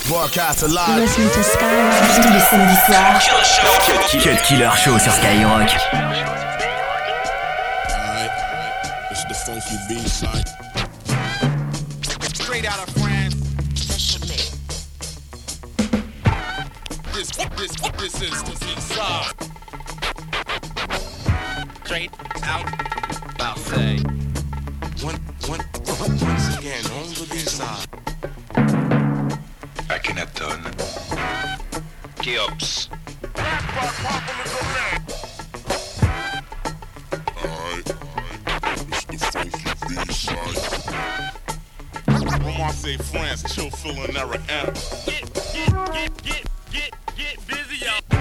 Broadcast alive. Listen to Skyrock tous les samedis soirs. Cut Killer Show sur Skyrock. Alright, it's the funky B-side. Straight out of France. This is the B-side. Straight out Marseille. Once again on the B-side. Akhenaton. Cheops. Alright, it's the funky B-side. Marseille, France, chill, feeling error. Get busy, y'all.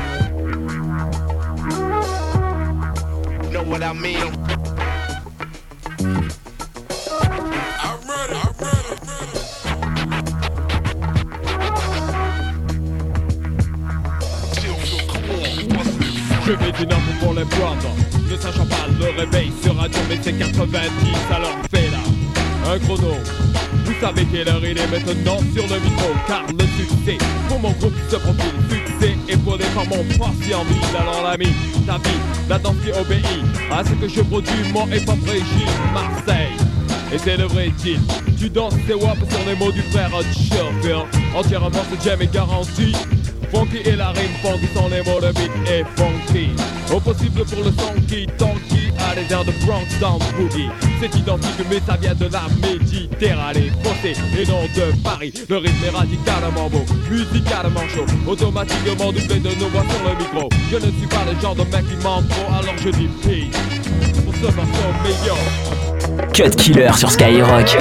Know what I mean? I'm ready. Je vais d'une heure pour les prendre. Ne sachant pas le réveil sur radio, mais c'est 90, alors fais là un chrono. Vous savez quelle heure il est maintenant sur le micro. Car le succès pour mon groupe se profile. Succès épaulé par mon patient mille. Alors l'ami, ta vie, la danse qui obéit à ce que je produis, mon hip-hop régime Marseille. Et c'est le vrai deal. Tu danses tes wap sur les mots du frère Chauffeur. Entièrement ce jam est garanti. Funky et la rime funky sont les mots de beat et funky. Au possible pour le son qui tanky à les airs de Bronx dans Boogie. C'est identique mais ça vient de la Méditerranée. Foncé et non de Paris. Le rythme est radicalement beau, musicalement chaud. Automatiquement doublé de nos voix sur le micro. Je ne suis pas le genre de mec qui ment trop, alors je dis peace pour ce morceau meilleur. Cut Killer sur Skyrock.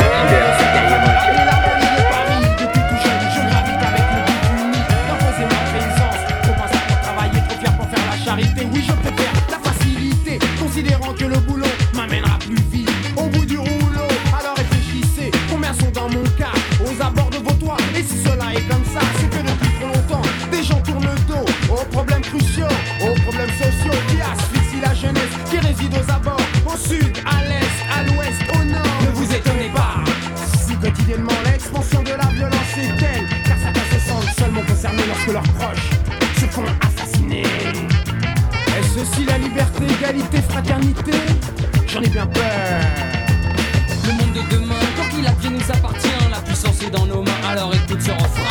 Oui, je préfère la facilité, considérant que le boulot m'amènera plus vite au bout du rouleau. Alors réfléchissez, combien sont dans mon cas aux abords de vos toits. Et si cela est comme ça, c'est que depuis trop longtemps des gens tournent le dos aux problèmes cruciaux, aux problèmes sociaux qui asphyxient la jeunesse qui réside aux abords, au sud, à l'est, à l'ouest, au nord. Ne vous étonnez pas si quotidiennement l'expansion de la violence est telle, car certains se sentent seulement concernés lorsque leurs proches se font assassiner. Est-ce ceci la liberté, égalité, fraternité? J'en ai bien peur. Le monde de demain, tant qu'il advient nous appartient. La puissance est dans nos mains, alors écoute ce refrain.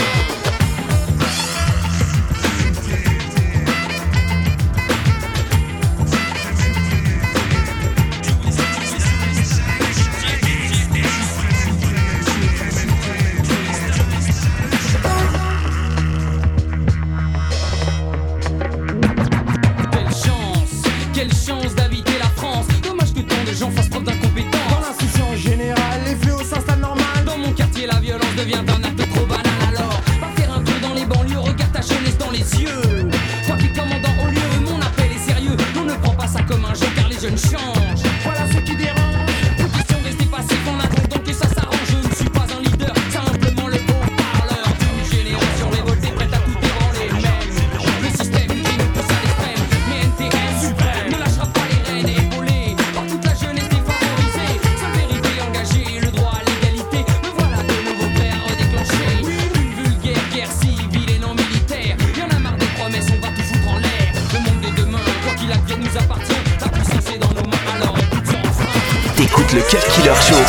Quelle chance d'habiter la France. Dommage que tant de gens fassent preuve d'incompétence. Dans l'insouciance générale, les fléaux s'installent normal. Dans mon quartier, la violence devient un acte trop banal. Alors, va faire un tour dans les banlieues, regarde ta jeunesse dans les yeux. Toi qui commandant au lieu, mon appel est sérieux. On ne prend pas ça comme un jeu car les jeunes changent. Voilà ce qui dérange. Une question de rester passif en attendant que ça s'arrange. Je ne suis pas un leader, simplement le haut-parleur d'une génération révoltée prête à tout ébranler. Même le système qui nous pousse à l'extrême, mais NTM suprême ne lâchera pas les rênes épaulées par toute la jeunesse défavorisée. Sa vérité engagée, le droit à l'égalité. Me voilà de nouveau prêt à redéclencher une vulgaire guerre civile et non militaire. Y'en a marre des promesses, on va tout foutre en l'air. Le monde de demain, quoi qu'il advienne, nous appartient. La puissance est dans nos mains, alors écoute ce refrain. T'écoutes le Cut Killer Show.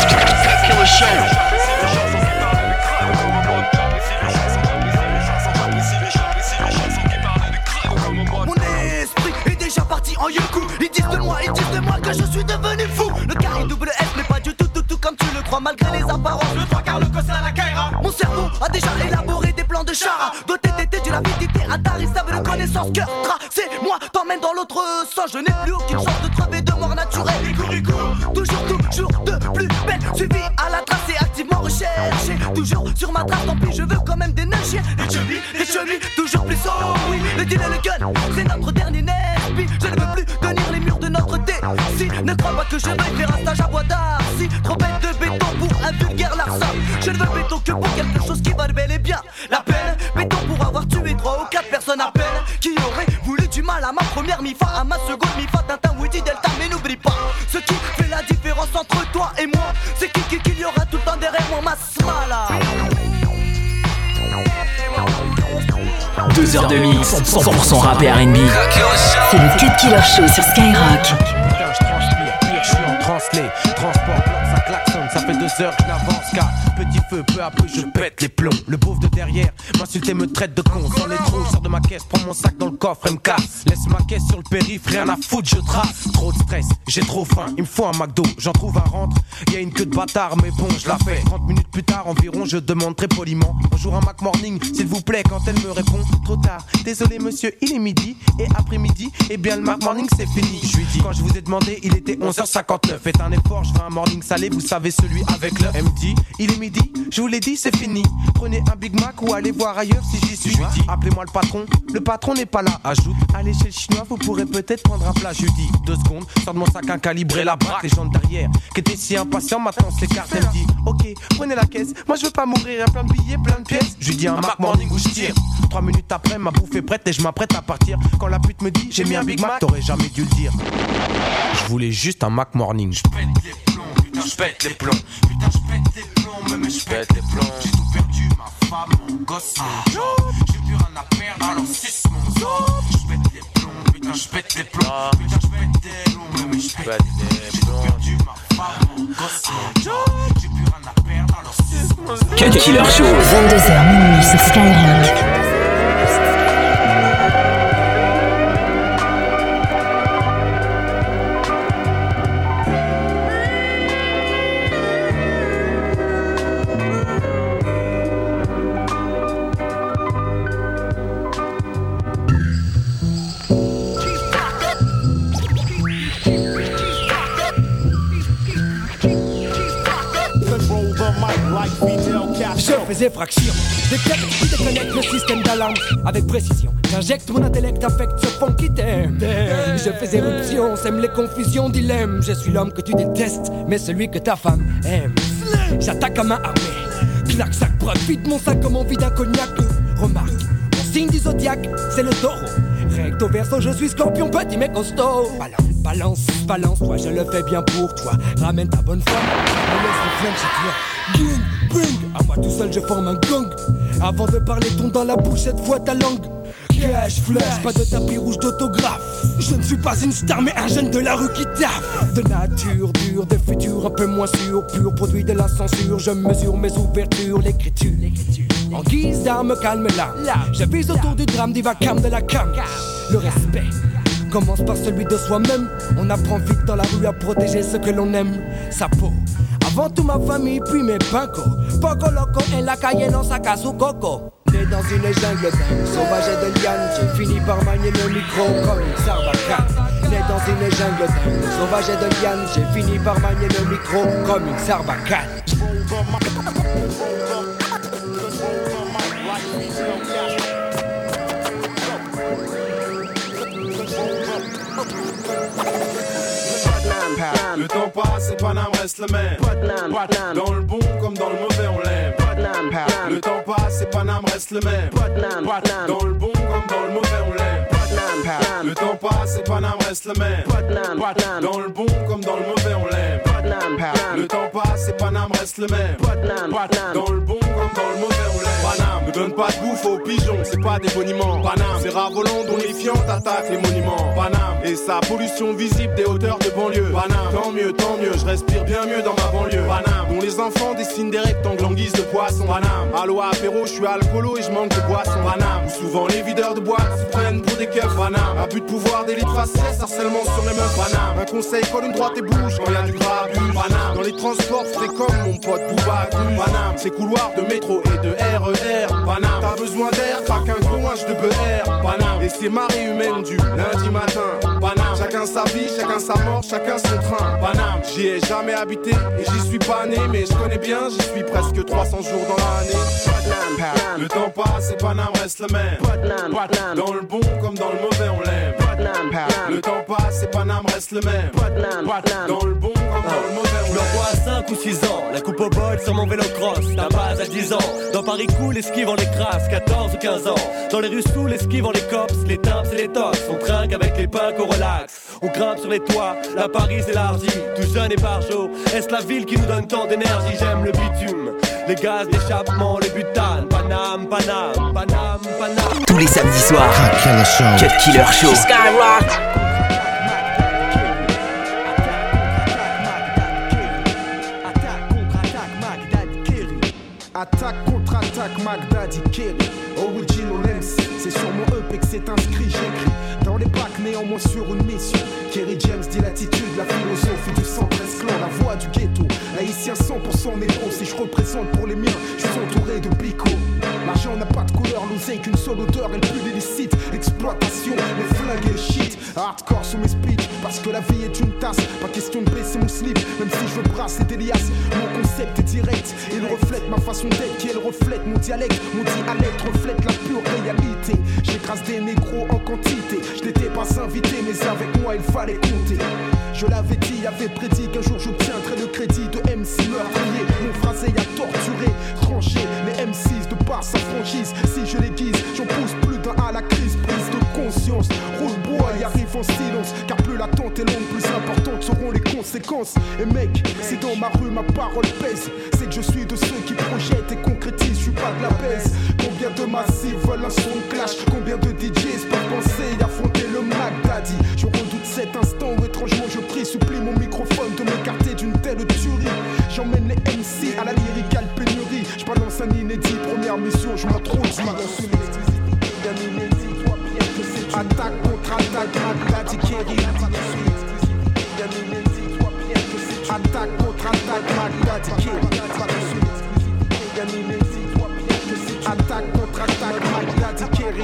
Mon esprit est déjà parti en yoku. Ils disent de moi que je suis devenu fou. Le carré double S n'est pas du tout comme tu le crois. Malgré les apparences, le trois quarts, le cossin à la Kaira. Mon cerveau a déjà élaboré des plans de chara. Doté d'été d'une avidité intarissable de connaissances. Cœur tracé, moi t'emmène dans l'autre sens. Je n'ai plus aucune chance de crever de mort naturelle. Toujours de plus belle. Suivi à la trace et activement recherché. Toujours sur ma trace, tant pis je veux quand même des nachiers. Les chevilles, toujours plus haut. Oui, le deal et le gun, c'est notre dernier nerf. Je ne veux plus tenir les murs de notre thé. Si, ne crois pas que je vais faire un stage à bois d'art. Si, trop bête de béton pour un vulgaire larcin. Je ne veux béton que pour quelque chose qui valent bel et bien la peine. Béton pour avoir tué 3 ou 4 personnes à peine. Qui aurait voulu du mal à ma première mi-fa, à ma seconde mi-fa, Tintin, Woody, Delta. Mais n'oublie pas, ce qui fait la différence entre toi et moi, c'est qu'il y aura tout le temps derrière moi, ma smala. 2 heures de mix, 100% rap et R&B. C'est le Cut Killer Show sur Skyrock. Putain, je transpire, je suis en translé. Transport, ça klaxonne, ça fait 2 heures que je n'avance car petit feu, peu à peu je pète les plombs. Le beauf de derrière m'insulte et me traite de con. Sans les trous, je sors de ma caisse, prends mon sac dans le coffre et me casse. Laisse ma caisse sur le périph', rien à foutre, je trace. Trop de stress, j'ai trop faim, il me faut un McDo. J'en trouve un rentre, y'a une queue de bâtard, mais bon, je la fais. 30 minutes plus tard environ, je demande très poliment: bonjour, un Mac Morning, s'il vous plaît. Quand elle me répond: trop tard, désolé monsieur, il est midi. Et après-midi, eh bien le Mac Morning c'est fini. Je lui dis: quand je vous ai demandé, il était 11h59. Faites un effort, je veux un morning salé, vous savez, celui avec l'œuf. Elle me dit: il est midi, je vous l'ai dit, c'est fini. Prenez un Big Mac ou allez voir ailleurs si j'y suis. Appelez-moi le patron n'est pas là. Ajoute: allez chez le chinois, vous pourrez peut-être prendre un plat. Je lui dis: 2 secondes, sors de mon sac un calibré, la braque. Les gens derrière, qui étaient si impatients, maintenant s'écartent. Elle me dit: ok, prenez la caisse, moi je veux pas mourir, plein de billets, plein de pièces. Je lui dis: un Mac Morning où je tire. 3 minutes après, ma bouffe est prête et je m'apprête à partir. Quand la pute me dit: j'ai mis un Big Mac, t'aurais jamais dû le dire. Je voulais juste un Mac Morning. Je pète les plombs, putain je pète les plombs. Putain je pète les plombs, mais je pète les plombs. J'ai tout perdu, ma femme, mon gosse, mon job. J'ai plus rien à perdre, alors suce mon job. Je pète les plombs, putain je pète les plombs. Putain je pète les plombs, mais je pète les plombs. J'ai tout perdu, ma femme, mon gosse, mon job. J'ai plus rien à perdre, alors suce mon job. Cut Killer Show. 22h minuit sur Skyrock. Je faisais fraction, détecte qui déconnecte le système d'alarme avec précision. J'injecte mon intellect, affecte ce fond qui t'aime. Je fais éruption, sème les confusions, dilemme. Je suis l'homme que tu détestes, mais celui que ta femme aime. J'attaque à main armée, claque, sac, profite mon sac comme on vide un cognac. Remarque, mon signe du zodiaque, c'est le taureau. Recto verso, je suis scorpion, petit mais costaud. Balance, toi je le fais bien pour toi. Ramène ta bonne femme, me laisse le flingue chez toi. Bing, bing, à moi tout seul je forme un gang. Avant de parler, tourne dans la bouche cette fois ta langue. Cash, flash, pas de tapis rouge d'autographe. Je ne suis pas une star mais un jeune de la rue qui taffe. De nature dure, de futur un peu moins sûr. Pur produit de la censure, je mesure mes ouvertures. L'écriture, en guise d'arme calme l'âme. Je vise autour du drame, du vacarme de la cam. Le respect commence par celui de soi-même. On apprend vite dans la rue à protéger ce que l'on aime. Sa peau, avant tout ma famille, puis mes pincos. Poco loco en la calle, non saca su coco. Né dans une jungle dingue, sauvage et de liane, j'ai fini par manier le micro comme une sarbacane. Né dans une jungle dingue, sauvage et de liane, j'ai fini par manier le micro comme une sarbacane. Le temps passe et Paname reste le même. Dans le bon comme dans le mauvais on l'aime. Le temps passe et Paname reste le même. Dans le bon comme dans le mauvais on l'aime. Le temps passe et Paname reste le même. Dans le bon comme dans le mauvais on l'aime. Le temps passe et Paname reste le même. Dans le bon comme dans le mauvais on l'aime. Paname ne donne pas de bouffe aux pigeons, c'est pas des boniments. Paname, c'est rats volants dont les fientes attaquent les monuments. Paname, et sa pollution visible des hauteurs de banlieue. Paname, tant mieux, je respire bien mieux dans ma banlieue. Paname, dont les enfants dessinent des rectangles en guise de poisson. Paname, allo apéro, je suis alcoolo et je manque de boisson. Paname, où souvent les videurs de boîte se prennent pour des keufs. Paname, abus de pouvoir, délit de faciès, harcèlement sur les meufs. Paname, un conseil, colle une droite et bouge quand y'a du grabuge. Paname, dans les transports, fais comme mon pote Bouba. Paname, c'est couloirs de métro et de RER. Paname, t'as besoin d'air, pas qu'un gros linge de beurre. Paname, et c'est marée humaine du lundi matin. Paname, chacun sa vie, chacun sa mort, chacun son train. Paname, j'y ai jamais habité et j'y suis pas né, mais je connais bien, j'y suis presque 300 jours dans l'année. Le temps passe et Paname reste le même. Dans le bon comme dans le mauvais on l'aime. Le temps passe et Paname reste le même. Dans le bon comme dans le mauvais on l'aime. Je le vois à 5 ou 6 ans, la coupe au bol sur mon vélo cross. D'un base à 10 ans, dans Paris cool, esquive en les crasses, 14 ou 15 ans. Dans les rues sous, l'esquive en les cops, les timps et les tops. On trinque avec les pinques au relax. On grimpe sur les toits, la Paris s'élargit. Tout jeune et par jour, est-ce la ville qui nous donne tant d'énergie? J'aime le bitume, les gaz d'échappement, les butanes. Paname, Paname, Paname, Paname. les samedis soirs. Cut Killer Show. Skyrock. Attaque contre-attaque, Mac Daddy Kerry. Original MC, c'est sur mon EP que c'est inscrit, j'écris dans les bacs, néanmoins sur une mission. Kerry James dit l'attitude, la philosophie du 113 clan, la voix du ghetto. Haïtien 100% négro, si je représente pour les miens, je suis entouré de bico. L'argent n'a pas de couleur, l'oseille qu'une seule odeur, elle pue l'illicite. L'exploitation, les flingues et le shit. Hardcore sous mes speeches, parce que la vie est une tasse. Pas question de baisser mon slip, même si je veux brasser des liasses. Mon concept est direct, il reflète ma façon d'être, qui elle reflète mon dialecte. Mon dialecte reflète la pure réalité. J'écrase des négros en quantité. Je n'étais pas invité, mais avec moi il fallait compter. Je l'avais dit, avait prédit qu'un jour j'obtiendrais le crédit de MC meurtrier. Mon phrasé a torturé, tranché les M6 de par sa franchise. Si je les guise, j'en pousse plus d'un à la crise. Prise de conscience, roule bois et arrive en silence. Car plus l'attente est longue, plus importantes seront les conséquences. Et mec, si dans ma rue ma parole pèse, c'est que je suis de ceux qui projettent et concrétisent, je suis pas de la baisse. Combien de massifs veulent un son clash? Combien de DJs peuvent penser et affronter le Mac Daddy? Je redoute cet instant où étrangement je prie, supplie mon microphone de m'écarter d'une telle tuerie. J'emmène les MC à la lyricale pénurie. Je balance un inédit, première mission, je m'introduis. Attaque contre attaque, Mac Daddy Kerry. Attaque contre attaque, Mac Daddy Kerry. Attaque contre attaque, Mac Daddy Kerry.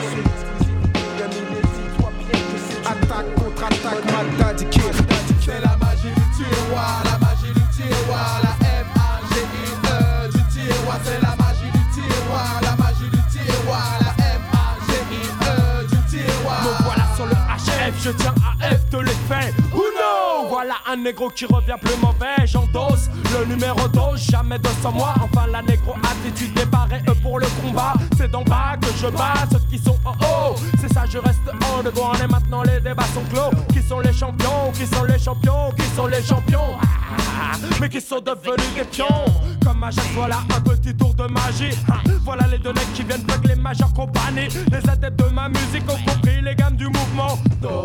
Attaque contre attaque, Mac Daddy Kerry. C'est la magie du tiroir, la magie du tiroir, la M-A-G-I-E du tiroir, c'est la magie du tiroir, la magie du tiroir, la M-A-G-I-E du tiroir. Me voilà sur le HF, je tiens à F de l'effet. Uno, voilà un négro qui revient plus mauvais, j'endosse le numéro 12, jamais 200 mois. Enfin la négro attitude débarrée pour le combat. C'est d'en bas que je bats ceux qui sont en haut. C'est ça, je reste en debout, et maintenant les débats sont clos. Qui sont les champions? Qui sont les champions? Qui sont les champions? Mais qui sont devenus des pions. Comme à chaque fois là, un petit tour de magie. Voilà les deux necks qui viennent avec les majeures compagnies. Les adeptes de ma musique ont compris les gammes du mouvement.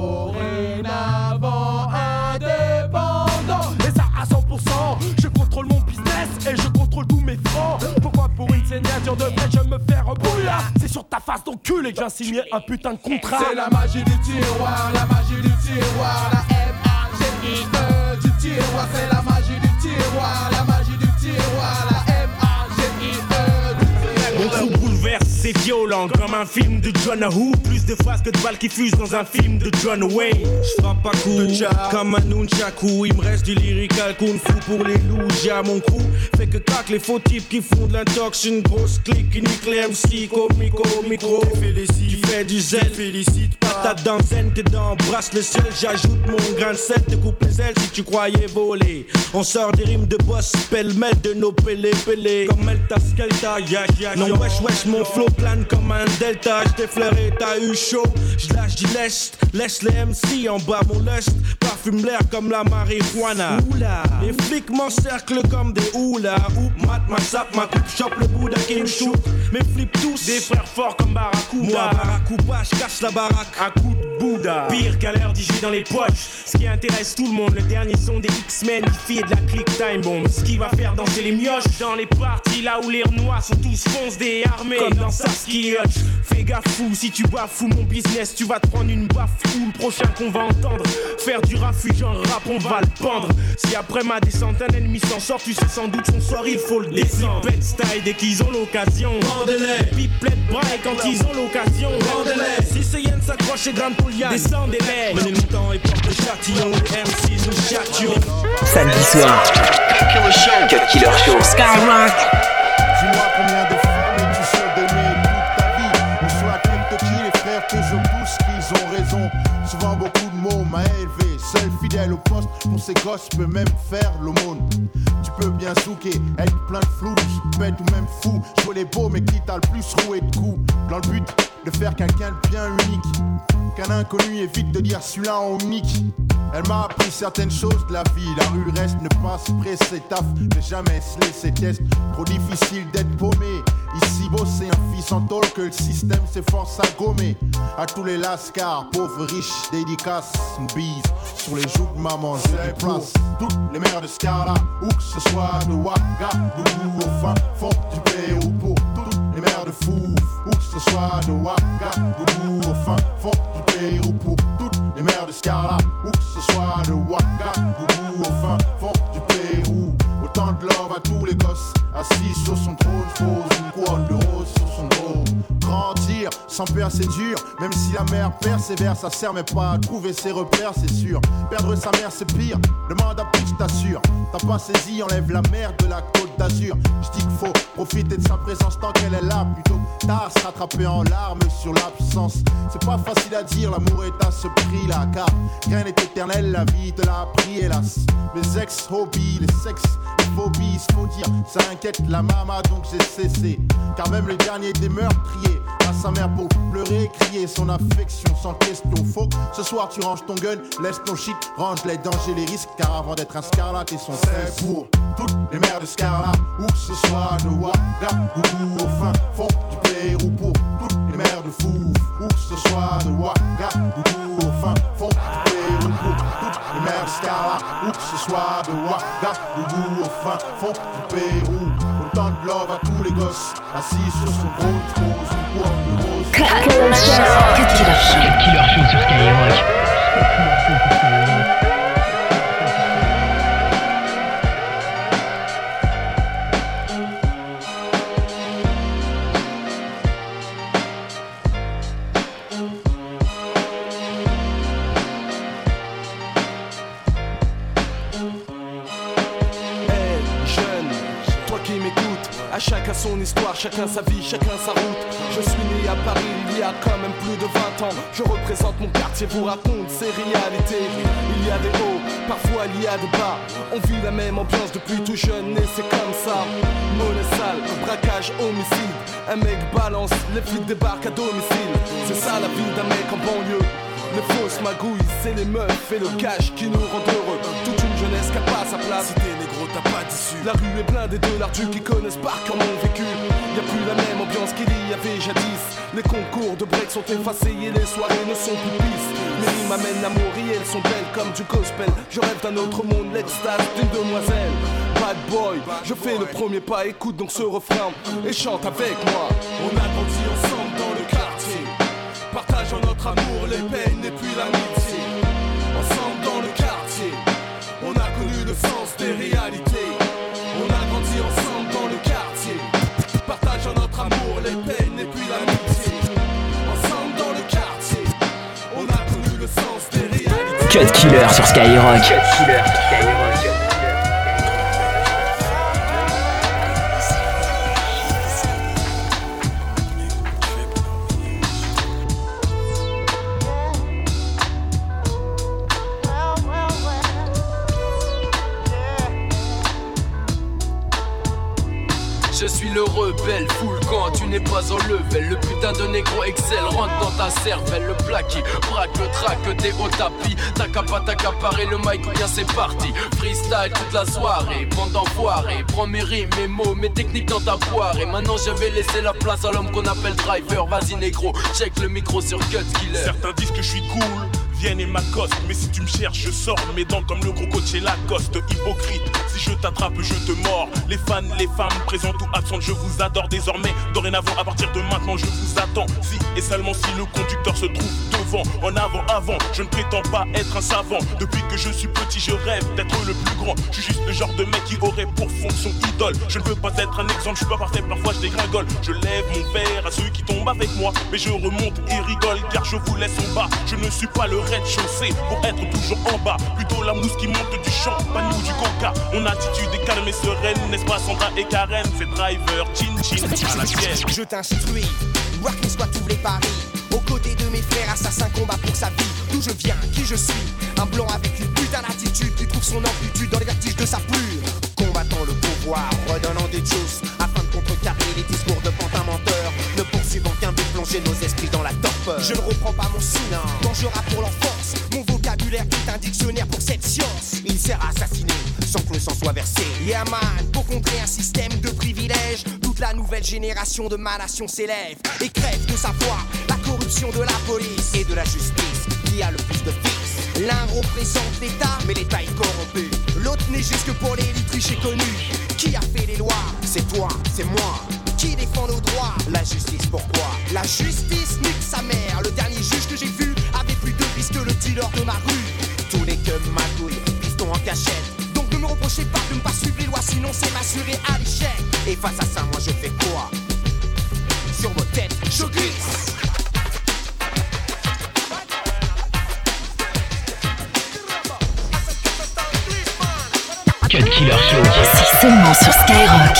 Dorénavant indépendant. Et ça à 100%. Je contrôle mon business et je contrôle tous mes francs. Pourquoi pour une signature de vrai je me fais rebouillar? C'est sur ta face d'enculé que j'ai signé un putain de contrat. C'est la magie du tiroir, la magie du tiroir, la M-A-G-I-E du tiroir, c'est la magie du tiroir, la magie du tiroir, la M-A-G-I-E du tiroir. Mon crew bouleverse, c'est violent comme un film de John Woo. Plus de phrases que de balles qui fusent dans un film de John Wayne. J'frappe pas coup comme un nunchaku. Il me reste du lyrical kung fu pour les loups. J'ai à mon crew fait que craque les faux types qui font de l'intox. Une grosse clique qui nique les MC micro. Tu fais du zèle, félicite pas ta danzaine. T'es dans brasse le ciel, j'ajoute mon grain de sel. Te coupe les ailes si tu croyais voler. On sort des rimes de boss, pêle-mêle de nos pélés. Comme Elta Skelta, non wesh, mon flow plane comme un delta. J'défleure et t'as eu chaud. J'lâche du lest, laisse les MC en bas mon lust. Parfume l'air comme la marijuana. Oula. Les flics m'encerclent comme des houlas. Oup, mat, ma sape, ma coupe, chope le bout d'un qui me shoot. Mes flips tous, des frères forts comme Barracuda. Moi, Barracuda, j'casse la baraque à coup de Bouddha. Pire qu'à l'heure d'y dans les poches. Ce qui intéresse tout le monde, le dernier son des X-Men, il fait de la click time bomb. Ce qui va faire danser les mioches dans les parties là où les renois sont tous foncés et armés. Comme dans Saskia. Fais gaffe fou, si tu bafoues mon business, tu vas te prendre une baffe ou le prochain qu'on va entendre. Faire du rafuge en rap, on va le pendre. Si après ma descente un ennemi s'en sort, tu sais sans doute son sort, il faut le descendre. Les flipettes style dès qu'ils ont l'occasion. Vendez-les. Pipelettes braille quand ils ont l'occasion. Vendez-les. Si ce yen s'accroche et grimpe au liane, descendez-les. Menez le temps et porte le châtillon. MC nous châtillons. Samedi soir. Cut Killer Show. Skyrock. Dis-moi combien de films tu sais d'aimer toute ta vie. On soit quelques qui les frères que je pousse, qu'ils ont raison. Souvent beaucoup de mots m'a élevé, seul fidèle au poste. Pour ces gosses, je peux même faire l'aumône. Tu peux bien souquer, être plein de flou, bête ou même fou. Jouer les beaux mais qui t'a le plus roué de coups. Dans le but de faire quelqu'un de bien unique. Qu'un inconnu évite de dire celui-là en unique. Elle m'a appris certaines choses de la vie. La rue reste, ne pas se presser, taf, ne jamais se laisser test. Trop difficile d'être paumé. Ici bosser un fils en tôle que le système s'efforce à gommer. À tous les lascars, pauvres, riches, dédicaces, une bise sur les joues de maman, je les place. Toutes les mères de Scarla, où que ce soit de Ouagadougou au fin fond du Pérou. Pour toutes les mères de Fouf, où que ce soit de Ouagadougou au fin fond du Pérou. Pour toutes les mères de Scarla, où que ce soit de Ouagadougou au fin fond du Pérou. Autant de love à tous les gosses, assis sur son trône, pose une couronne de rose sur son dos. Grandir sans peur c'est dur, même si la mère persévère, ça sert mais pas à trouver ses repères, c'est sûr. Perdre sa mère c'est pire, demande à plus, je t'assure. T'as pas saisi, enlève la merde de la Côte d'Azur. Je dis qu'il faut profiter de sa présence tant qu'elle est là, plutôt tard se rattraper en larmes sur l'absence. C'est pas facile à dire, l'amour est à ce prix là, car rien n'est éternel, la vie te l'a appris hélas. Mes ex-hobbies, les sexes, les phobies, faut dire, ça inquiète la mama donc j'ai cessé. Car même le dernier des meurtriers à sa mère pour pleurer, crier son affection sans question. Faut que ce soir tu ranges ton gun, laisse ton shit, range les dangers, les risques. Car avant d'être un Scarlat, et son c'est pour toutes les mères de Scarlat, où que ce soit de Ouagadougou au fin fond du Pérou. Pour toutes les mères de Fouf, où que ce soit de Ouagadougou au fin fond du Pérou. Pour toutes les mères de Scarlat, où que ce soit de Ouagadougou au fin fond du Pérou. Autant de love à tous les gosses, assis sur son trône, pose une couronne de rose. Cut Killer Show sur Skyrock. Chacun son histoire, chacun sa vie, chacun sa route. Je suis né à Paris il y a quand même plus de 20 ans. Je représente mon quartier, vous raconte ses réalités. Il y a des hauts, parfois il y a des bas. On vit la même ambiance depuis tout jeune et c'est comme ça. Monnaie sale, braquage, homicide. Un mec balance, les flics débarquent à domicile. C'est ça la vie d'un mec en banlieue. Les fausses magouilles, c'est les meufs et le cash qui nous rendent heureux. Toute une jeunesse qui a pas sa place. Si t'es négro, t'as pas d'issue. La rue est blindée de lardus qui connaissent par cœur mon vécu. Y'a plus la même ambiance qu'il y avait jadis. Les concours de break sont effacés et les soirées ne sont plus pisses. Les rimes m'amènent l'amour et elles sont belles comme du gospel. Je rêve d'un autre monde, l'extase d'une demoiselle. Bad boy, je fais le premier pas, écoute donc ce refrain et chante avec moi. On a grandi ensemble dans le quartier, partageant notre amour, les peines et puis l'amitié. Ensemble dans le quartier, on a connu le sens des réalités. On a grandi ensemble dans le quartier, partageant notre amour, les peines et puis l'amitié. Ensemble dans le quartier, on a connu le sens des réalités. Cut Killer sur Skyrock. Cut Killer sur Skyrock. Je suis le rebelle, full quand tu n'es pas en level. Le putain de négro Excel rentre dans ta cervelle. Le plat qui braque le track, t'es au tapis. T'as qu'à pas t'accaparer le mic, bien c'est parti. Freestyle toute la soirée, bande d'enfoirés. Prends mes rimes, mes mots, mes techniques dans ta poire. Et maintenant je vais laisser la place à l'homme qu'on appelle driver. Vas-y négro, check le micro sur Cut Killer. Certains disent que je suis cool, viennent et m'accostent. Mais si tu me cherches, je sors mes dents comme le gros coach et Lacoste. Hypocrite, si je t'attrape, je te mords. Les fans, les femmes, présentes ou absentes, je vous adore désormais. Dorénavant, à partir de maintenant, je vous attends. Si et seulement si le conducteur se trouve devant. En avant, avant, je ne prétends pas être un savant. Depuis que je suis petit, je rêve d'être le plus grand. Je suis juste le genre de mec qui aurait pour fonction idole. Je ne veux pas être un exemple, je suis pas parfait, parfois je dégringole. Je lève mon verre à ceux qui tombent avec moi, mais je remonte et rigole car je vous laisse en bas. Je ne suis pas le rez-de-chaussée pour être toujours en bas. Plutôt la mousse qui monte du champagne ou du coca. Mon attitude est calme et sereine, n'est-ce pas Sandra et Karen? C'est driver, chin à la pièce. Je t'instruis, working soit tous les paris. Aux côtés de mes frères, assassins combat pour sa vie. D'où je viens, qui je suis, un blanc avec une putain d'attitude qui trouve son amplitude dans les vertiges de sa plume. Combattant le pouvoir, redonnant des juices afin de contrecarrer les discours de pantins menteurs. Ne poursuivant qu'un but, plonger nos esprits dans la torpeur. peur. Je ne reprends pas mon souffle quand je rappe pour l'enfance. Mon vocabulaire est un dictionnaire pour cette science. Il sert à assassiner sans que le sang soit versé. Yeah man, pour contrer un système de privilèges, toute la nouvelle génération de ma nation s'élève et crève de savoir la corruption de la police et de la justice qui a le plus de fils. L'un représente l'État, mais l'État est corrompu. L'autre n'est juste que pour les riches connus. Qui a fait les lois? C'est toi, c'est moi. Qui défend nos droits? La justice, pourquoi? La justice nique sa mère. Le dernier juge que j'ai vu avait plus de vis que le dealer de ma rue. Tous les que magouilles, piston en cachette. Donc ne me reprochez pas de ne pas suivre les lois, sinon c'est m'assurer à l'échec. Et face à ça, moi je fais quoi? Sur vos têtes, je glisse. Cut Killer Show. C'est seulement sur Skyrock.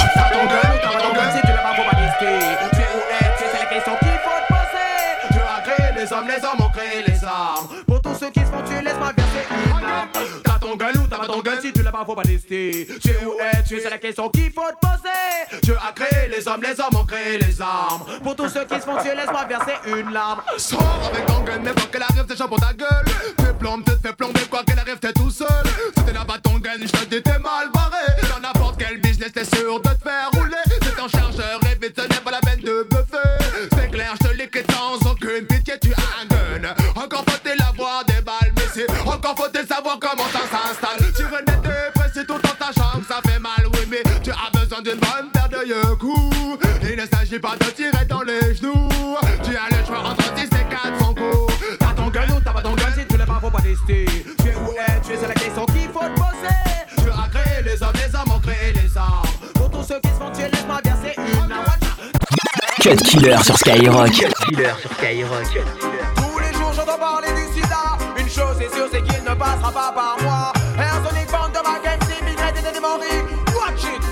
Les hommes ont créé les armes. Pour tous ceux qui se font tuer, laisse-moi verser une arme. T'as ton gun ou t'as pas ton gun? Si tu l'as pas, faut pas tester. Tu es où es-tu? C'est la question qu'il faut te poser. Dieu a créé les hommes ont créé les armes. Pour tous ceux qui se font tuer, laisse-moi verser une larme. Sors avec ton gun, mais quoi qu'elle arrive, t'es chaud pour ta gueule. T'es plombes, t'es fait plomber, quoi qu'elle arrive, t'es tout seul. Si t'es là pas ton gun, j'te dis t'es mal barré. Dans n'importe quel business, t'es sûr de te faire rouler. C'est un chargeur et vite, ce n'est pas la peine de buffer. C'est clair, j'te l'écris sans aucune pitié, tu as un gun. Encore faut-il avoir des balles, mais c'est encore faut-il savoir comment ça s'installe. Tu venais de presser tout dans ta chambre, ça fait mal, oui, mais tu as besoin d'une bonne paire de yeux. Il ne s'agit pas de tirer dans les genoux. Tu as le choix entre 10 et 400 coups. T'as ton gun ou t'as pas ton gun? Si tu l'as pas, faut pas tester. Tu es où es-tu? C'est la question qu'il faut te poser. Tu as créé les hommes ont créé les armes. Pour tous ceux qui se font tuer, laisse-moi verser une arme. Cut Killer sur Skyrock. Cut Killer sur Skyrock. Tous les jours j'entends parler du sida. Une chose est sûre, c'est qu'il ne passera pas par moi. Arsenic, bande de ma game, c'est migraine et des démories. Watch it.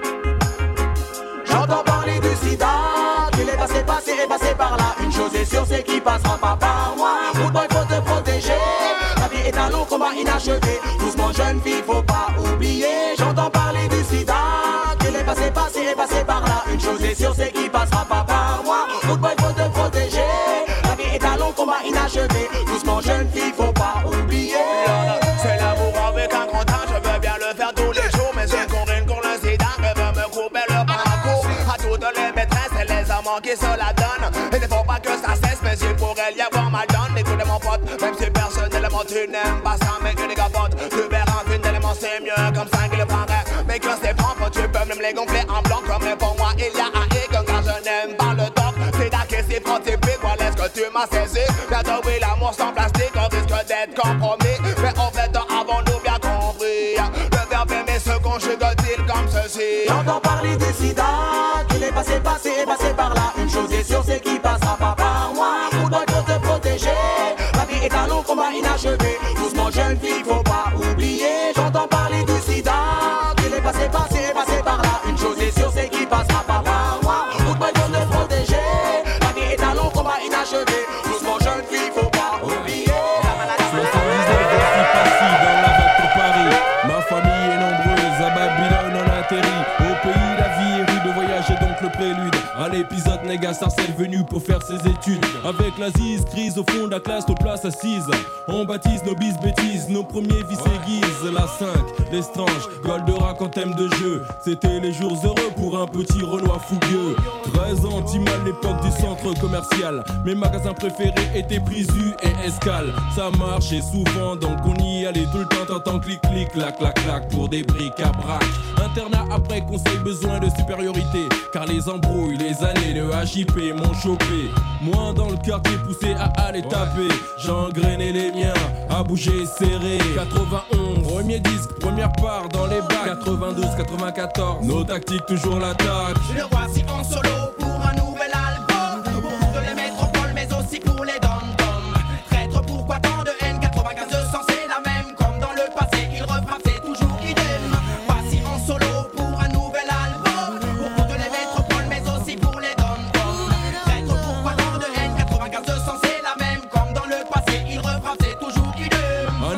J'entends parler du sida. Qu'il est passé par là. Une chose est sûre, c'est qu'il passera pas par moi. Good boy, faut te protéger. La vie est un long combat inachevé. Doucement jeune fille, faut pas oublier. J'entends parler du sida. Qu'il est passé par là. Une chose est sûre, c'est qu'il passera pas par moi. Good boy, faut te protéger. La vie est un long combat inachevé. Doucement jeune fille, faut pas oublier. C'est l'amour avec un grand âge, je veux bien le faire tous les jours. Mais j'ai couru le sida, je veux me couper le parcours. À toutes les maîtresses et les amants qui se la donnent. Il ne faut pas que ça cesse, mais il pourrait y avoir mal donne. Écoutez mon pote, même si personnellement tu n'aimes pas ça, mais que les capotes, tu verras qu'une élément c'est mieux comme ça qu'il le paraît. Mais que c'est propre, tu peux même les gonfler en blanc. Comme les pour moi, il y a un hic, car je n'aime pas le top. C'est d'accord, c'est prototypique, voilà ce que tu m'as saisi. Bientôt oui, l'amour sans plastique, on risque d'être compromis. Mais en fait, avons-nous bien compris? Le verbe aimer se conjugue-t-il comme ceci? J'entends parler du sida, qu'il est passé par là. Une chose est sûre, c'est qu'il passera pas par moi. Good boy, faut te protéger. La vie est un long combat inachevé. Doucement jeune fille, faut pas oublier. J'entends parler du sida, qu'il est passé par là. Une chose est sûre, c'est qu'il passera pas par moi. Good boy, faut te protéger. La vie est un long combat inachevé. Doucement jeune fille, faut pas oublier. Ma famille est nombreuse, à Babylone on atterrit. Au pays la vie est rude, voyager donc le prélude à l'épisode Néga Sarcelle venu pour faire ses études. Avec la zise, crise au fond de la classe, nos places assises. On baptise nos bis bêtises, nos premiers vices aiguisent. La 5, l'estrange, Goldorak en thème de jeu. C'était les jours heureux pour un petit Renoir fougueux. 13 ans, Timal, l'époque du centre commercial. Mes magasins préférés étaient Prisu et Escale. Ça marchait souvent donc on y allait tout le temps. T'entends clic clic, clac clac clac pour des briques à braque. Internat après conseil, besoin de supériorité. Car les embrouilles, les années de HIP m'ont chopé. Moi dans le quartier poussé à aller taper. J'engrainais les miens, à bouger serré. 91, premier disque, première part dans les bacs. 92, 94, nos tactiques toujours l'attaque. Le voici en solo pour un nouvel album. Pour toutes les métropoles mais aussi pour les dom-toms. Traître, pourquoi tant de haine? 95 200 c'est la même. Comme dans le passé il refrappe, c'est toujours idem. Voici en solo pour un nouvel album. Pour toutes les métropoles mais aussi pour les dom-toms. Traître, pourquoi tant de haine? 95 200 c'est la même. Comme dans le passé il refrappe, c'est toujours idem. Années 80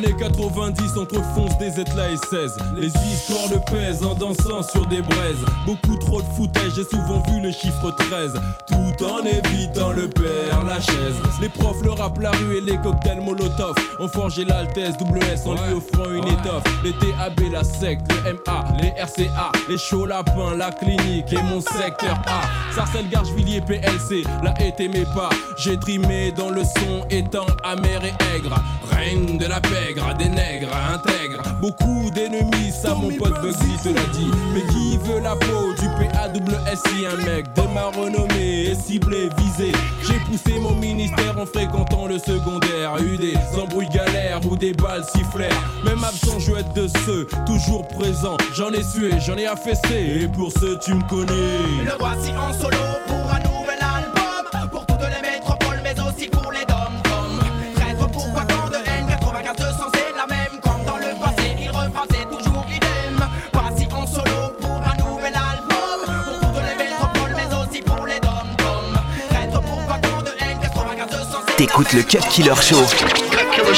90 entrefonce des Zetla et 16. Les histoires le pèsent en dansant sur des braises. Beaucoup trop de foutaise, j'ai souvent vu le chiffre 13. Tout en évitant le père Lachaise. Les profs, le rap, la rue et les cocktails Molotov ont forgé l'Altesse WS en lui offrant une étoffe. Les TAB, la secte, le MA, les RCA, les chauds lapins, la clinique et mon secteur A. Sarcelles, Garcheville, PLC, la haie t'aimait pas. J'ai trimé dans le son étant amer et aigre. Règne de la pègre, des nègres intègres. Beaucoup d'ennemis, ça mon pote Bugsy te l'a dit. Mais qui veut la peau du PAWSI? Un mec de ma renommée est ciblé, visé. J'ai poussé mon ministère en fréquentant le secondaire. Eu des embrouilles galères ou des balles sifflèrent. Même absent, je veux être de ceux toujours présents. J'en ai sué, j'en ai affaissé. Et pour ceux tu me connais. Le voici en solo pour un nouvel album. Pour toutes les métropoles mais aussi pour les dom-toms. Traître pourquoi tant de haine, 95 200 c'est la même. Comme dans le passé, il refrain c'est toujours idem. Voici en solo pour un nouvel album. Pour toutes les métropoles mais aussi pour les dom-toms. Traître pourquoi tant de haine, 95 200 c'est la même. T'écoutes le Cut Killer Show. Toujours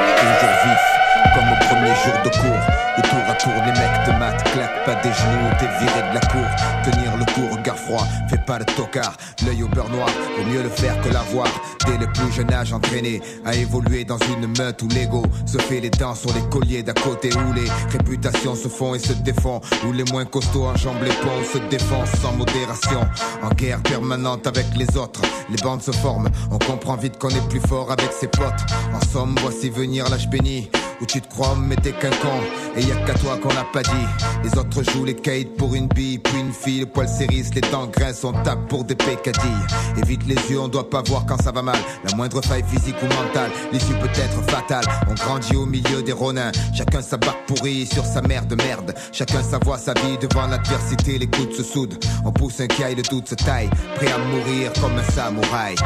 vif, comme au premier jour de cours. De tour à tour, les mecs te matent, claque pas des genoux, t'es viré de la cour. Tenir le coup, regard froid, fais pas le tocard. L'œil au beurre noir, vaut mieux le faire que l'avoir. Dès le plus jeune âge entraîné à évoluer dans une meute où l'ego se fait les dents sur les colliers d'à côté. Où les réputations se font et se défont. Où les moins costauds enjambent les ponts, se défoncent sans modération. En guerre permanente avec les autres, les bandes se forment. On comprend vite qu'on est plus fort avec ses potes. En somme, voici venir l'âge béni. Où tu te crois mais t'es qu'un con. Et y'a qu'à toi qu'on l'a pas dit. Les autres jouent les kites pour une bille, puis une fille. Le poil s'érisse, les dents grincent, on tape pour des pécadilles. Évite les yeux, on doit pas voir quand ça va mal. La moindre faille physique ou mentale, l'issue peut être fatale. On grandit au milieu des ronins. Chacun sa barque pourrie sur sa mère de merde. Chacun sa voix, sa vie devant l'adversité. Les coudes se soudent. On pousse un caille, le doute se taille. Prêt à mourir comme un samouraï.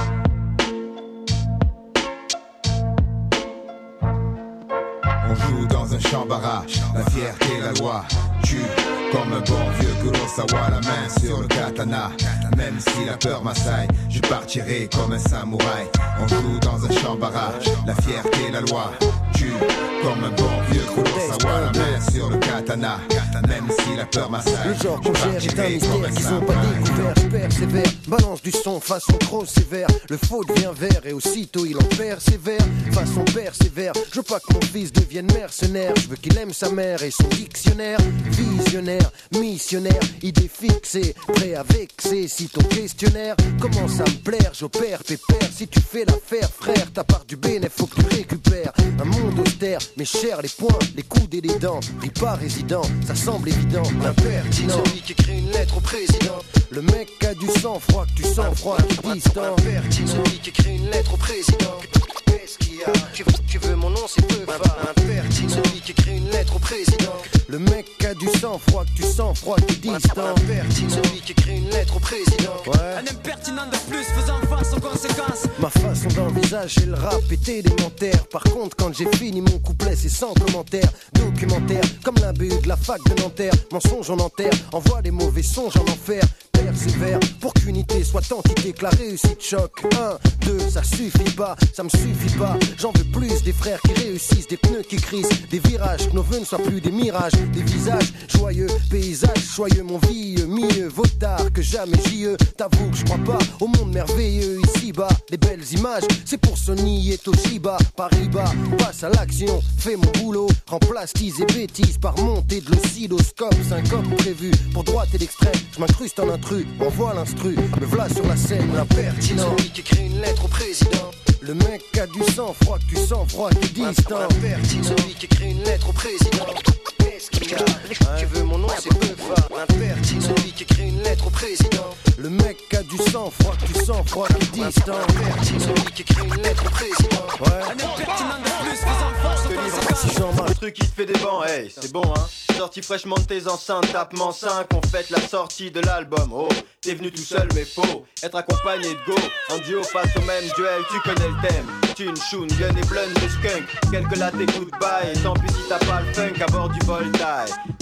On joue dans un champ barrage, la fierté, la loi. Tue comme un bon vieux Kurosawa, la main sur le katana. Même si la peur m'assaille, je partirai comme un samouraï. On joue dans un champ barrage, la fierté, la loi. Tue comme un bon vieux Kurosawa, la main sur le katana. Même si la peur m'assaille, le genre qu'on gère est un mystère qu'ils ont pas découvert. Je persévère, balance du son façon trop sévère. Le faux devient vert et aussitôt il en persévère. Façon persévère, je veux pas que mon fils devienne mercenaire. Je veux qu'il aime sa mère et son dictionnaire. Visionnaire, missionnaire, idée fixée, prêt à vexer. Si ton questionnaire commence à me plaire, j'opère pépère. Si tu fais l'affaire, frère, ta part du bénéf, faut que tu récupères. Un monde austère, mais cher les poings, les coudes et les dents. Ris pas résident, ça semble évident, impertinent. Celui qui écrit une lettre au président. Le mec a du sang-froid, que tu sens froid, qui distant. Celui qui écrit une lettre au président. Qu'est-ce qu'il y a? Tu veux mon nom, c'est peu impertinent. Celui qui écrit une lettre au président. Le mec a du sang-froid, que tu sens froid, qui distant. Celui qui écrit une lettre au président. Ouais. Un impertinent de plus faisant face aux conséquences. Ma façon d'envisager le rap est élémentaire. Par contre, quand j'ai fini mon couplet, c'est sans commentaire. Documentaire, comme la BU de la fac de Nanterre. Mensonge en enterre, envoie des mauvais songes en enfer. Persévère pour qu'unité soit entité, que la réussite choque. 1, 2, ça suffit pas, ça me suffit pas. J'en veux plus des frères qui réussissent, des pneus qui crissent, des virages, que nos vœux ne soient plus des mirages, des visages joyeux, paysages joyeux, mon vieux, mieux vaut tard que jamais JE. T'avoue que je crois pas au monde merveilleux ici-bas. Les belles images, c'est pour Sony et Toshiba. Paris-Bas, passe à l'action, fais mon boulot. Remplace tease et bêtises par montée de l'oscilloscope. Syncope prévu pour droite et l'extrême. Je m'incruste en intrus, m'envoie l'instru. Me v'là sur la scène, l'impertinent. Celui qui écrit une lettre au président. Le mec a du sang-froid, que tu sens froid, qui distant. Celui qui écrit une lettre au président. Qu'est-ce qu'il y a? Tu veux mon nom, c'est peu fort. Impertinent. Celui qui écrit une lettre au président. Le mec a du sang-froid, que tu sens froid, qui distant. Celui qui écrit une lettre au président. Ouais. Un impertinent de plus faisant face aux conséquences. Le truc qui te fait des bancs, hey, c'est bon hein. Sorti fraîchement de tes enceintes, tapement 5, on fête la sortie de l'album. Oh, t'es venu tout seul mais faut être accompagné de go. En duo face au même duel, tu connais le thème. Tune, shoon, gun et blunts de skunk. Quelques latte et goodbye, et tant pis si t'as pas le funk à bord du Voltaire.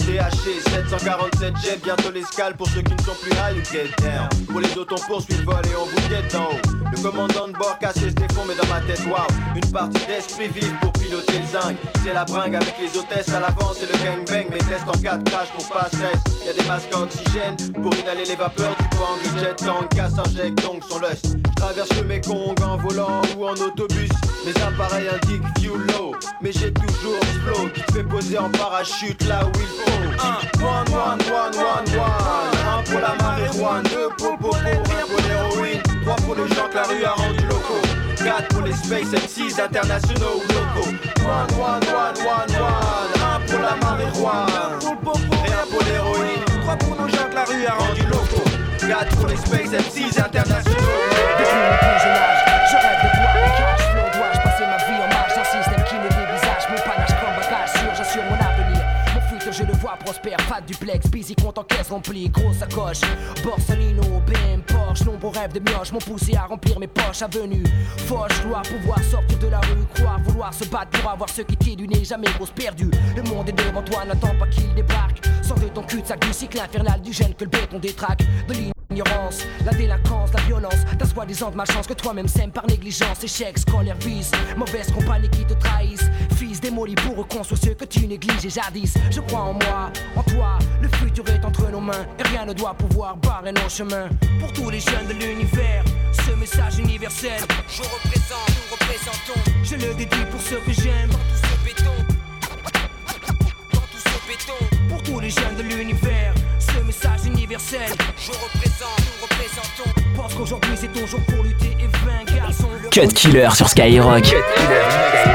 THC 747 jet, bientôt l'escale pour ceux qui ne sont plus high ou get down. Pour les autres on poursuit le vol et on vous guette en haut. Le commandant de bord cassé se défend mais dans ma tête wow. Une partie d'esprit vive pour piloter le zinc. C'est la bringue avec les hôtesses à l'avant, c'est le gangbang. Mes tests en cas de crash pour pas stress. Y'a des masques à oxygène pour inhaler les vapeurs du bang. Le jet tank casse injecte donc son lust. Traverse le Mekong en volant ou en autobus. Mes appareils indiquent view low, mais j'ai toujours ce flow qui te fait poser en parachute là où il faut. One, one, one, one, one. Un pour la marijuana, 2 pour popo, 1 pour l'héroïne, 3 pour les gens que la rue a rendu locaux, 4 pour les Space MCs internationaux ou locaux. One, one, one, one, one. 1 pour la marijuana, et 1 pour l'héroïne, 3 pour nos gens que la rue a rendu locaux, 4 pour les Space MCs internationaux. Depuis mon plus jeune âge, je rêve de voir le cash flow. Dois-je passer ma vie en marge d'un système qui me dévisage? Mon panache comme bagage sûr, j'assure mon avenir. Mon futur je le vois prospère, fat duplex, busy compte en caisse remplie, grosse sacoche, Borsalino, BM, Porsche, nombreux rêves de mioche m'ont poussé à remplir mes poches. Avenue, Foch, gloire, pouvoir sortir de la rue, croire, vouloir se battre pour avoir ce qui tire du nez, jamais grosse perdue. Le monde est devant toi, n'attends pas qu'il débarque. Sors de ton cul-de-sac du cycle infernal du gène que le béton détraque. De l'ignorance, la délinquance, la violence, ta soi-disant de malchance que toi-même sèmes par négligence. Échec, scolaire, vice, mauvaise compagnie qui te trahissent. Fils démoli pour reconstruire ceux que tu négliges et jadis. Je crois en moi, en toi, le futur est entre nos mains et rien ne doit pouvoir barrer nos chemins. Pour tous les jeunes de l'univers, ce message universel, je représente, nous représentons. Je le dédie pour ceux que j'aime, dans tout ce béton, dans tout ce béton. Pour tous les jeunes de l'univers, ce message universel, je représente, nous représentons. Pense qu'aujourd'hui c'est ton jour pour lutter et vaincre, garçon. Cut Killer sur Skyrock. Cut Killer.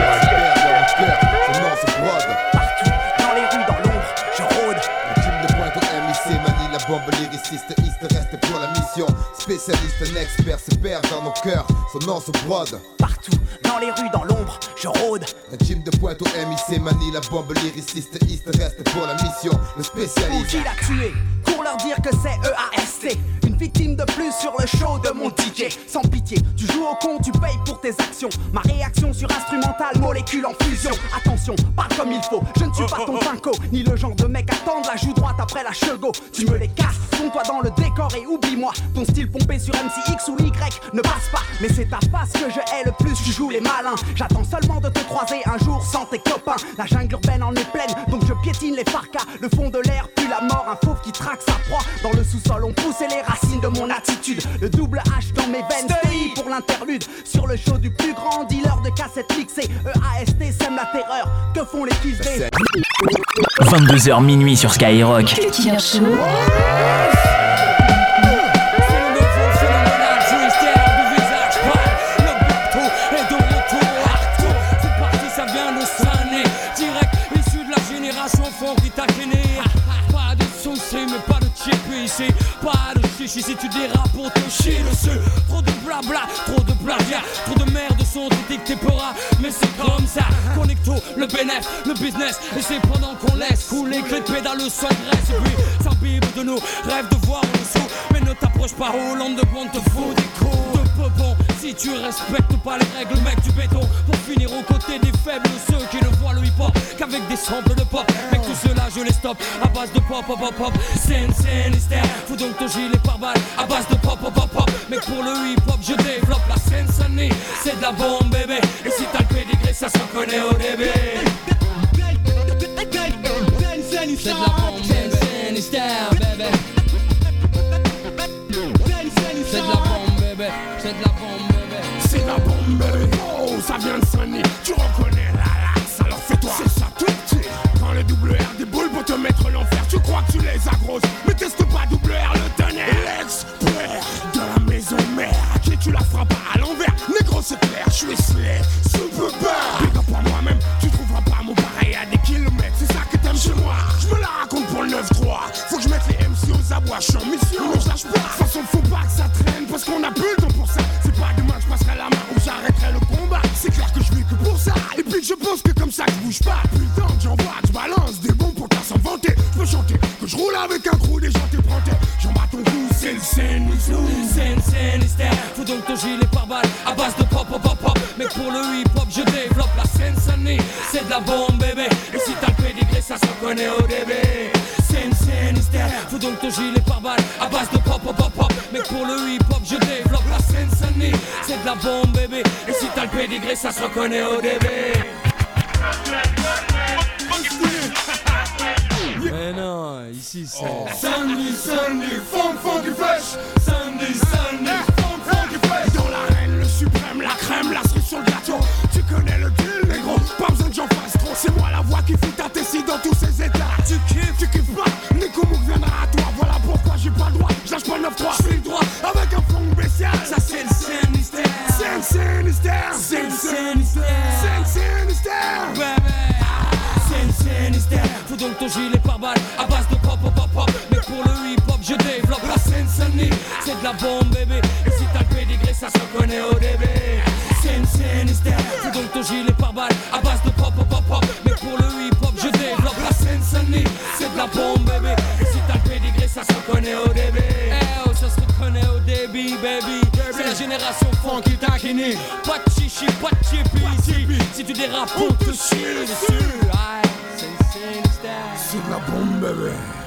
Partout, dans les rues, dans l'ombre, je rôde. Le team de pointe au MIC manie la bombe lyriciste, East reste pour la mission. Spécialiste, un expert se perd dans nos cœurs, son nom se brode. Partout, dans les rues, dans l'ombre, je rôde. Un team de pointe au MIC manie la bombe lyriciste, East reste pour la mission. Le spécialiste. Qui l'a tué? Pour leur dire que c'est EAST. Une victime de plus sur le show de mon DJ. Sans pitié, tu joues au con, tu payes pour tes actions. Ma réaction sur instrumental, molécule en fusion. Attention, parle comme il faut, je ne suis pas ton pinko, ni le genre de mec à tendre la joue droite après la chego. Tu me les casses, fonds-toi dans le décor et oublie-moi. Ton style pompé sur MCX ou Y ne passe pas. Mais c'est ta face que je hais le plus, tu joues les malins. J'attends seulement de te croiser un jour sans tes copains. La jungle urbaine en est pleine, donc je piétine les farcas. Le fond de l'air pue la mort, un fauve qui traque sa proie. Dans le sous-sol on poussait les racines de mon attitude. Le double H dans mes veines, stay pour l'interlude. Sur le show du plus grand dealer de cassettes mixées, EAST sème la terreur, que font les kills des 22h minuit sur Skyrock. Killer Show. Pas de chichi si tu dérapes pour te chier dessus. Trop de blabla, trop de plagiat, trop de merde sont dictés pora. Mais c'est comme ça, connecto, le bénéf, le business. Et c'est pendant qu'on laisse couler que les pédales soient graisse. Et puis s'imbibe de nous, rêve de voir en dessous. Mais ne t'approche pas Hollande de bon, te faut des coups de peupon. Si tu respectes pas les règles, mec du béton. Pour finir aux côtés des faibles, ceux qui ne voient le hip-hop qu'avec des samples de pop. Mec tout cela je les stoppe à base de pop, pop, pop, pop. Scène, hystère, fous donc ton gilet par balle à base de pop, pop, pop, pop. Mais pour le hip-hop je développe la Scène, c'est de la bombe bébé. Et si t'as le pédigré ça se reconnaît au début. C'est de la bombe, Scène, hystère, bébé. C'est de la bombe bébé, c'est de la bombe bébé. C'est de la bombe bébé, oh ça vient de Sunny. Tu reconnais la laxe, alors fais-toi. C'est ça tout petit. Prends le double R des boules pour te mettre l'enfer. Tu crois que tu les as grosses, mais teste pas double R le tonnerre. L'expert de la maison mère, à qui tu la frappes à l'envers. Négro c'est clair, je suis slay, super bad. Big up à moi-même, tu trouveras pas mon pareil à des kilomètres. C'est ça que t'aimes chez moi, je me la raconte pour le 9-3. Faut que je mette les MC aux abois, je suis en mission, mais je lâche pas. De toute façon faut pas que ça traîne, parce qu'on a plus le temps pour ça. C'est pas demain que je passerai la main ou j'arrêterai le combat. C'est clair que je vis que pour ça, et puis que je pense que comme ça je bouge pas. Putain que j'envoie, je balance des bons pour t'as sans vanter. Je peux chanter, que je roule avec un crew des gens t'es prentés. J'en bats ton cou, c'est le scène, Sinister. Faut donc ton gilet pare-balles à base de pop pop pop pop. Mais pour le hip-hop je développe la Seine-Saint-Denis. C'est de la bombe bébé. Et si t'as le pédigré ça se reconnaît au début. Sinister. Faut donc ton gilet pare-balles à base de pop pop pop pop. Mais pour le hip-hop je développe la Seine-Saint-Denis. C'est de la bombe bébé. Et si t'as le pédigré ça se reconnaît au début. Mais non, ici c'est Sunday, funky fresh. Sunday, funky fresh. Dans l'arène, le suprême, la crème, la cerise sur le gâteau. Tu connais le deal, négro, pas besoin que j'en fasse trop. C'est moi la voix qui fait ta tessie dans tous ces états. Tu kiffes pas, Nico Mouk viendra à toi. Voilà pourquoi j'ai pas le droit, je lâche pas le 9-3. J'fais le droit avec un fond spécial. Ça c'est le Sinister. Sinister. Sinister. Faut donc ton gilet pare-balles à base de pop pop pop pop. Mais pour le hip-hop je développe la Seine-Saint-Denis. C'est de la bombe bébé. Et si t'as le pédigré ça se reconnaît au début. Sinister. Faut donc ton gilet pare-balles à base de pop pop pop pop. Mais pour le hip-hop je développe la Seine-Saint-Denis. C'est de la bombe bébé. Et si t'as le pédigré ça se reconnaît au début. Eh oh ça se reconnaît au début baby. C'est la génération funky taquini. Pas de chichi, pas de chippy ici. Si tu dérapes on te chie dessus. C'est de la bombe bébé.